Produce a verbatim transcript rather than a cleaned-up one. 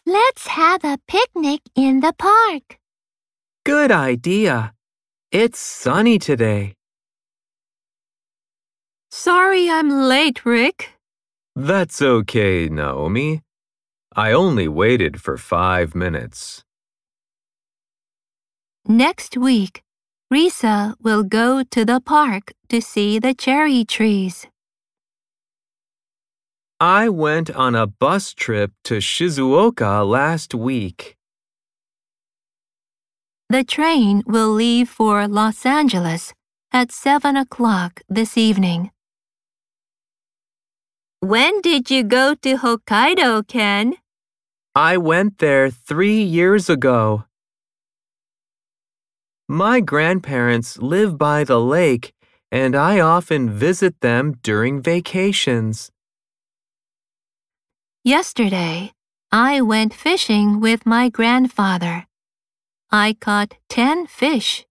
Let's have a picnic in the park. Good idea. It's sunny today. Sorry I'm late, Rick. That's okay, Naomi. I only waited for five minutes. Next week, Risa will go to the park to see the cherry trees. I went on a bus trip to Shizuoka last week. The train will leave for Los Angeles at seven o'clock this evening. When did you go to Hokkaido, Ken? I went there three years ago. My grandparents live by the lake, and I often visit them during vacations. Yesterday, I went fishing with my grandfather. I caught ten fish.